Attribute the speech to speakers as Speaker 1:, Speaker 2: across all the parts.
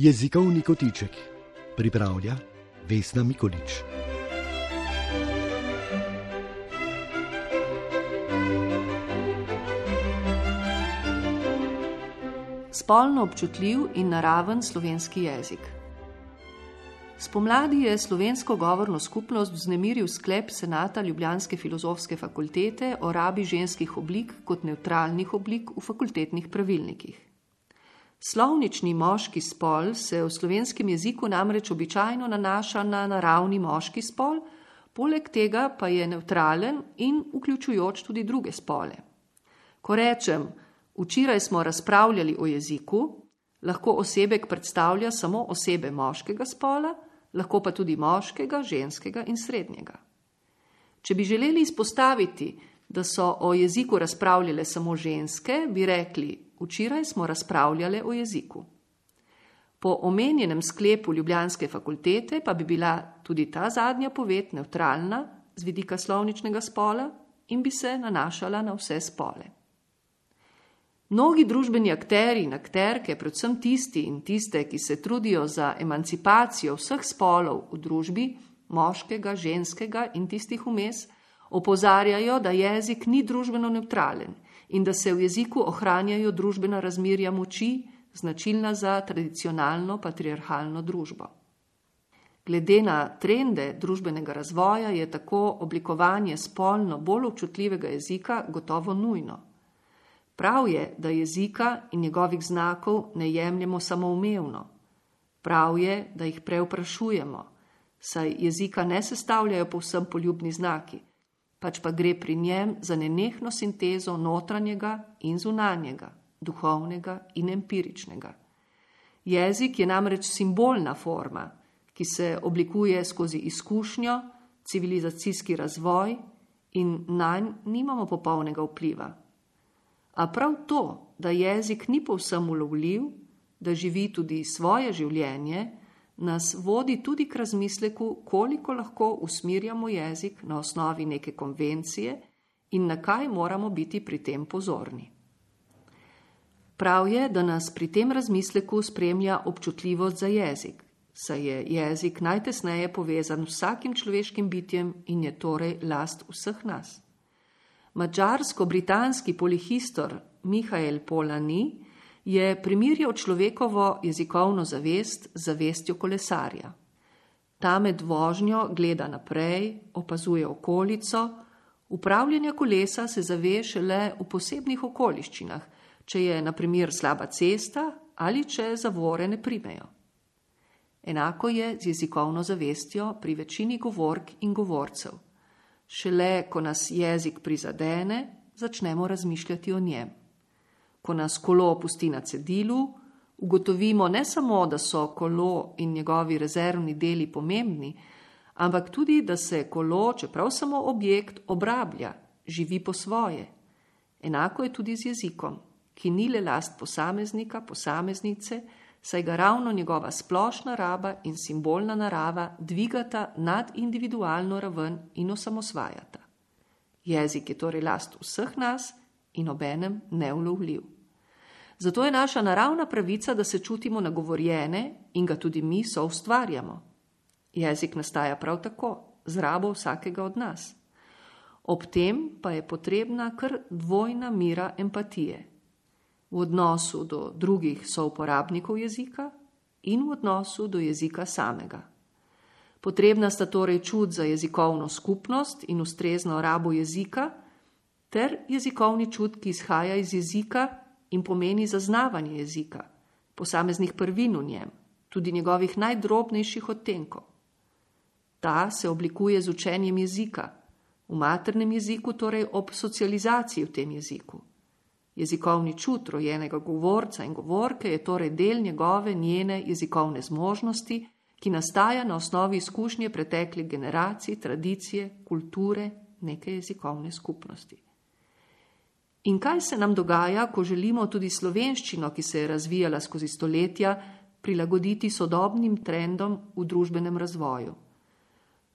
Speaker 1: Jezikovni kotiček pripravlja Vesna Mikolič.
Speaker 2: Spolno občutljiv in naraven slovenski jezik. Spomladi je slovensko govorno skupnost vznemiril sklep senata ljubljanske filozofske fakultete o rabi ženskih oblik kot nevtralnih oblik v fakultetnih pravilnikih. Slovnični moški spol se v slovenskem jeziku namreč običajno nanaša na naravni moški spol, poleg tega pa je nevtralen in vključujoč tudi druge spole. Ko rečem, včeraj smo razpravljali o jeziku, lahko osebek predstavlja samo osebe moškega spola, lahko pa tudi moškega, ženskega in srednjega. Če bi želeli izpostaviti, da so o jeziku razpravljale samo ženske, bi rekli, včeraj smo razpravljale o jeziku. Po omenjenem sklepu ljubljanske fakultete pa bi bila tudi ta zadnja poved nevtralna z vidika slovničnega spola in bi se nanašala na vse spole. Mnogi družbeni akteri in akterke, predvsem tisti in tiste, ki se trudijo za emancipacijo vseh spolov v družbi, moškega, ženskega in tistih vmes, opozarjajo, da jezik ni družbeno nevtralen in da se v jeziku ohranjajo družbena razmerja moči, značilna za tradicionalno patriarhalno družbo. Glede na trende družbenega razvoja je tako oblikovanje spolno bolj občutljivega jezika gotovo nujno. Prav je, da jezika in njegovih znakov ne jemljemo samoumevno. Prav je, da jih prevprašujemo, saj jezika ne sestavljajo povsem poljubni znaki, pač pa gre pri njem za nenehno sintezo notranjega in zunanjega, duhovnega in empiričnega. Jezik je namreč simbolna forma, ki se oblikuje skozi izkušnjo, civilizacijski razvoj in nanj nimamo popolnega vpliva. A prav to, da jezik ni povsem ulovljiv, da živi tudi svoje življenje, nas vodi tudi k razmisleku, koliko lahko usmirjamo jezik na osnovi neke konvencije in na kaj moramo biti pri tem pozorni. Prav je, da nas pri tem razmisleku spremlja občutljivost za jezik, saj je jezik najtesneje povezan z vsakim človeškim bitjem in je torej last vseh nas. Madžarsko-britanski polihistor Mihael Polanyi je primerjal človekovo jezikovno zavest z zavestjo kolesarja. Ta med vožnjo gleda naprej, opazuje okolico, upravljanja kolesa se zave šele v posebnih okoliščinah, če je na primer slaba cesta ali če zavore ne primejo. Enako je z jezikovno zavestjo pri večini govork in govorcev. Šele, ko nas jezik prizadene, začnemo razmišljati o njem. Ko nas kolo pusti na cedilu, ugotovimo ne samo, da so kolo in njegovi rezervni deli pomembni, ampak tudi, da se kolo, čeprav samo objekt, obrablja, živi po svoje. Enako je tudi z jezikom, ki ni le last posameznika, posameznice, saj ga ravno njegova splošna raba in simbolna narava dvigata nad individualno raven in osamosvajata. Jezik je torej last vseh nas in obenem neulovljiv. Zato je naša naravna pravica, da se čutimo nagovorjene in ga tudi mi soustvarjamo. Jezik nastaja prav tako, z rabo vsakega od nas. Ob tem pa je potrebna kar dvojna mera empatije. V odnosu do drugih souporabnikov jezika in v odnosu do jezika samega. Potrebna sta torej čut za jezikovno skupnost in ustrezno rabo jezika, ter jezikovni čut, ki izhaja iz jezika in pomeni zaznavanje jezika, posameznih prvin v njem, tudi njegovih najdrobnejših odtenkov. Ta se oblikuje z učenjem jezika, v maternem jeziku torej ob socializaciji v tem jeziku. Jezikovni čut rojenega govorca in govorke je torej del njene jezikovne zmožnosti, ki nastaja na osnovi izkušnje preteklih generacij, tradicije, kulture, neke jezikovne skupnosti. In kaj se nam dogaja, ko želimo tudi slovenščino, ki se je razvijala skozi stoletja, prilagoditi sodobnim trendom v družbenem razvoju?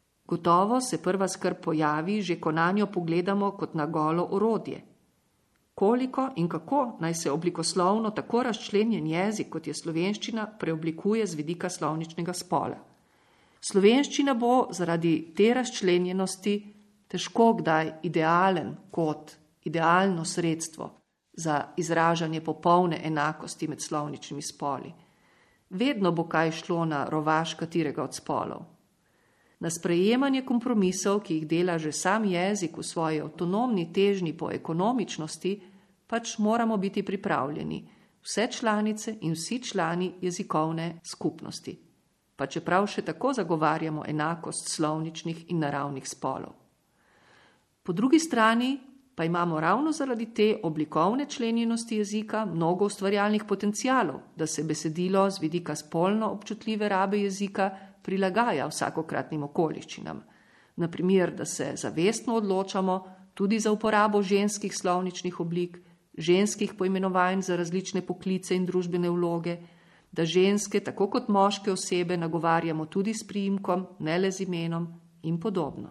Speaker 2: Gotovo se prva skrb pojavi, že ko nanjo pogledamo kot na golo orodje. Koliko in kako naj se oblikoslovno tako razčlenjen jezik, kot je slovenščina, preoblikuje z vidika slovničnega spola. Slovenščina bo zaradi te razčlenjenosti težko kdaj idealen kot idealno sredstvo za izražanje popolne enakosti med slovničnimi spoli. Vedno bo kaj šlo na rovaš katerega od spolov. Na sprejemanje kompromisov, ki jih dela že sam jezik v svoji avtonomni težnji po ekonomičnosti, pač moramo biti pripravljeni, vse članice in vsi člani jezikovne skupnosti, pa čeprav še tako zagovarjamo enakost slovničnih in naravnih spolov. Po drugi strani pa imamo ravno zaradi te oblikovne členjenosti jezika mnogo ustvarjalnih potencialov, da se besedilo z vidika spolno občutljive rabe jezika prilagaja vsakokratnim okoliščinam. Na primer, da se zavestno odločamo tudi za uporabo ženskih slovničnih oblik, ženskih poimenovanj za različne poklice in družbene vloge, da ženske, tako kot moške osebe, nagovarjamo tudi s priimkom, ne le z imenom in podobno.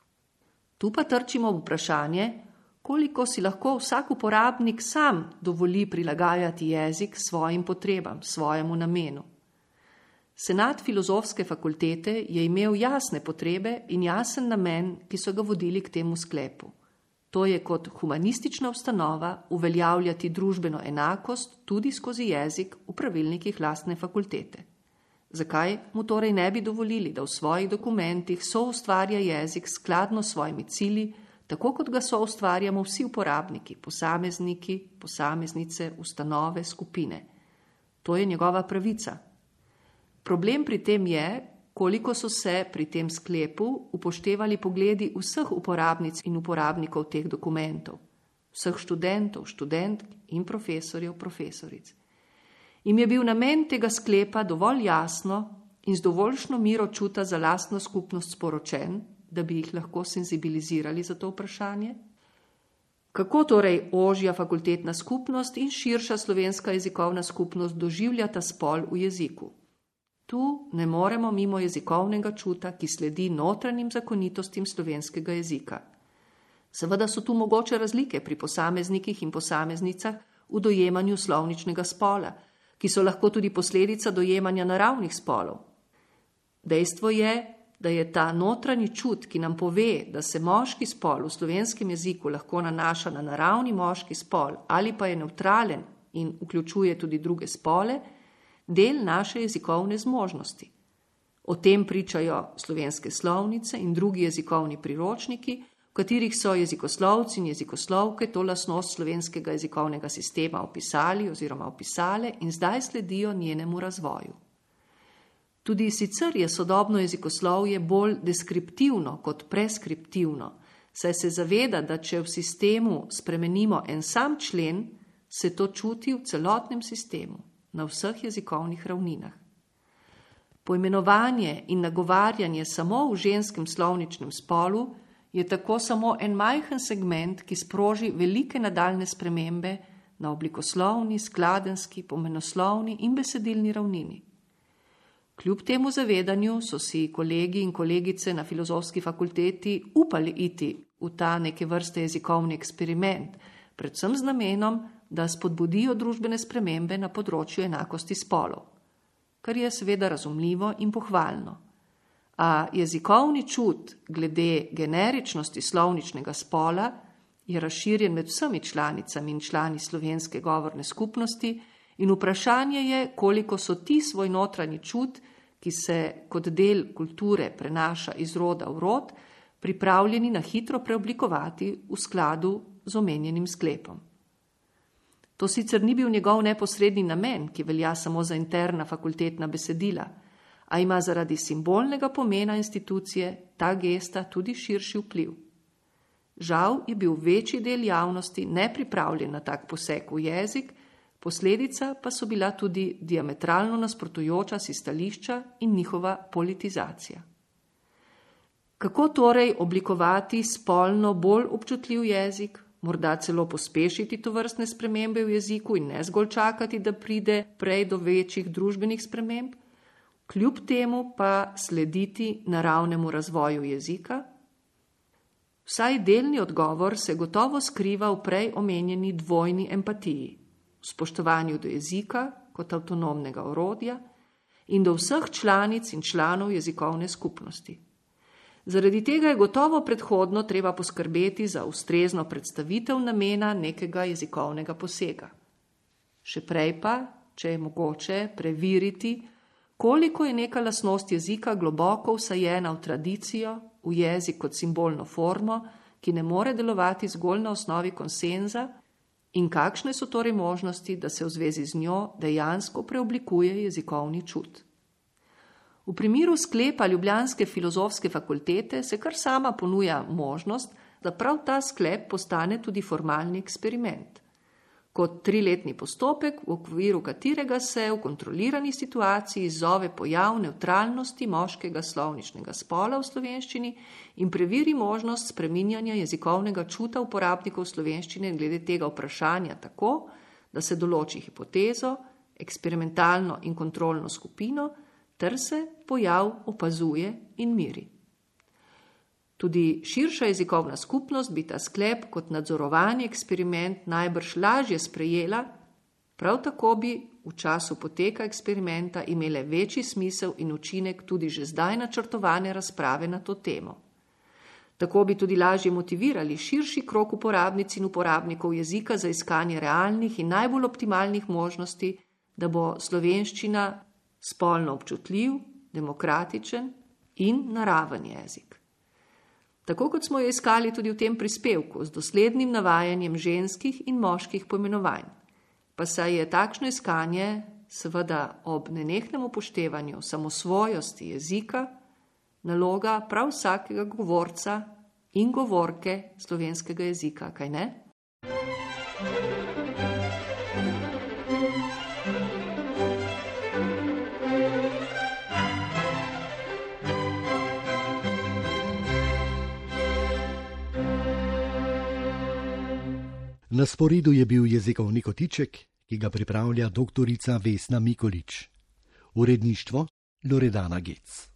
Speaker 2: Tu pa trčimo v vprašanje, koliko si lahko vsak uporabnik sam dovoli prilagajati jezik svojim potrebam, svojemu namenu. Senat Filozofske fakultete je imel jasne potrebe in jasen namen, ki so ga vodili k temu sklepu. To je kot humanistična ustanova uveljavljati družbeno enakost tudi skozi jezik v pravilnikih lastne fakultete. Zakaj mu torej ne bi dovolili, da v svojih dokumentih soustvarja jezik skladno s svojimi cilji, tako kot ga soustvarjamo vsi uporabniki, posamezniki, posameznice, ustanove, skupine. To je njegova pravica. Problem pri tem je, koliko so se pri tem sklepu upoštevali pogledi vseh uporabnic in uporabnikov teh dokumentov, vseh študentov, študentk in profesorjev, profesoric. Im je bil namen tega sklepa dovolj jasno in z dovoljšno miro čuta za lastno skupnost sporočen, da bi jih lahko senzibilizirali za to vprašanje? Kako torej ožja fakultetna skupnost in širša slovenska jezikovna skupnost doživljata spol v jeziku? Tu ne moremo mimo jezikovnega čuta, ki sledi notranjim zakonitostim slovenskega jezika. Seveda so tu mogoče razlike pri posameznikih in posameznicah v dojemanju slovničnega spola, ki so lahko tudi posledica dojemanja naravnih spolov. Dejstvo je, da je ta notranji čut, ki nam pove, da se moški spol v slovenskem jeziku lahko nanaša na naravni moški spol ali pa je nevtralen in vključuje tudi druge spole, del naše jezikovne zmožnosti. O tem pričajo slovenske slovnice in drugi jezikovni priročniki, v katerih so jezikoslovci in jezikoslovke to lastnost slovenskega jezikovnega sistema opisali oziroma opisale in zdaj sledijo njenemu razvoju. Tudi sicer je sodobno jezikoslovje bolj deskriptivno kot preskriptivno, saj se zaveda, da če v sistemu spremenimo en sam člen, se to čuti v celotnem sistemu, na vseh jezikovnih ravninah. Poimenovanje in nagovarjanje samo v ženskem slovničnem spolu je tako samo en majhen segment, ki sproži velike nadaljne spremembe na oblikoslovni, skladenski, pomenoslovni in besedilni ravnini. Kljub temu zavedanju so si kolegi in kolegice na Filozofski fakulteti upali iti v ta neke vrste jezikovni eksperiment, predvsem z namenom, da spodbudijo družbene spremembe na področju enakosti spolov, kar je seveda razumljivo in pohvalno. A jezikovni čut glede generičnosti slovničnega spola je razširjen med vsemi članicami in člani slovenske govorne skupnosti in vprašanje je, koliko so ti svoj notranji čut, ki se kot del kulture prenaša iz roda v rod, pripravljeni na hitro preoblikovati v skladu z omenjenim sklepom. To sicer ni bil njegov neposredni namen, ki velja samo za interna fakultetna besedila, a ima zaradi simbolnega pomena institucije ta gesta tudi širši vpliv. Žal je bil večji del javnosti nepripravljen na tak poseg v jezik, posledica pa so bila tudi diametralno nasprotujoča si stališča in njihova politizacija. Kako torej oblikovati spolno bolj občutljiv jezik, morda celo pospešiti tovrstne spremembe v jeziku in ne zgolj čakati, da pride prej do večjih družbenih sprememb, kljub temu pa slediti naravnemu razvoju jezika? Vsaj delni odgovor se gotovo skriva v prej omenjeni dvojni empatiji, v spoštovanju do jezika kot avtonomnega orodja in do vseh članic in članov jezikovne skupnosti. Zaradi tega je gotovo predhodno treba poskrbeti za ustrezno predstavitev namena nekega jezikovnega posega. Še prej pa, če je mogoče, preveriti, koliko je neka lastnost jezika globoko vsajena v tradicijo, v jezik kot simbolno formo, ki ne more delovati zgolj na osnovi konsenza, in kakšne so torej možnosti, da se v zvezi z njo dejansko preoblikuje jezikovni čut. V primeru sklepa ljubljanske filozofske fakultete se kar sama ponuja možnost, da prav ta sklep postane tudi formalni eksperiment. Kot 3-letni postopek, v okviru katerega se v kontrolirani situaciji izzove pojav nevtralnosti moškega slovničnega spola v slovenščini in preveri možnost spreminjanja jezikovnega čuta uporabnikov slovenščine glede tega vprašanja tako, da se določi hipotezo, eksperimentalno in kontrolno skupino, ter se pojav opazuje in miri. Tudi širša jezikovna skupnost bi ta sklep kot nadzorovani eksperiment najbrž lažje sprejela, prav tako bi v času poteka eksperimenta imele večji smisel in učinek tudi že zdaj načrtovane razprave na to temo. Tako bi tudi lažje motivirali širši krog uporabnic in uporabnikov jezika za iskanje realnih in najbolj optimalnih možnosti, da bo slovenščina spolno občutljiv, demokratičen in naraven jezik. Tako kot smo jo iskali tudi v tem prispevku z doslednim navajanjem ženskih in moških poimenovanj, pa saj je takšno iskanje, seveda ob nenehnem upoštevanju samosvojosti jezika, naloga prav vsakega govorca in govorke slovenskega jezika, kaj ne?
Speaker 1: Na sporedu je bil jezikovni kotiček, ki ga pripravlja doktorica Vesna Mikolič. Uredništvo Loredana Gec.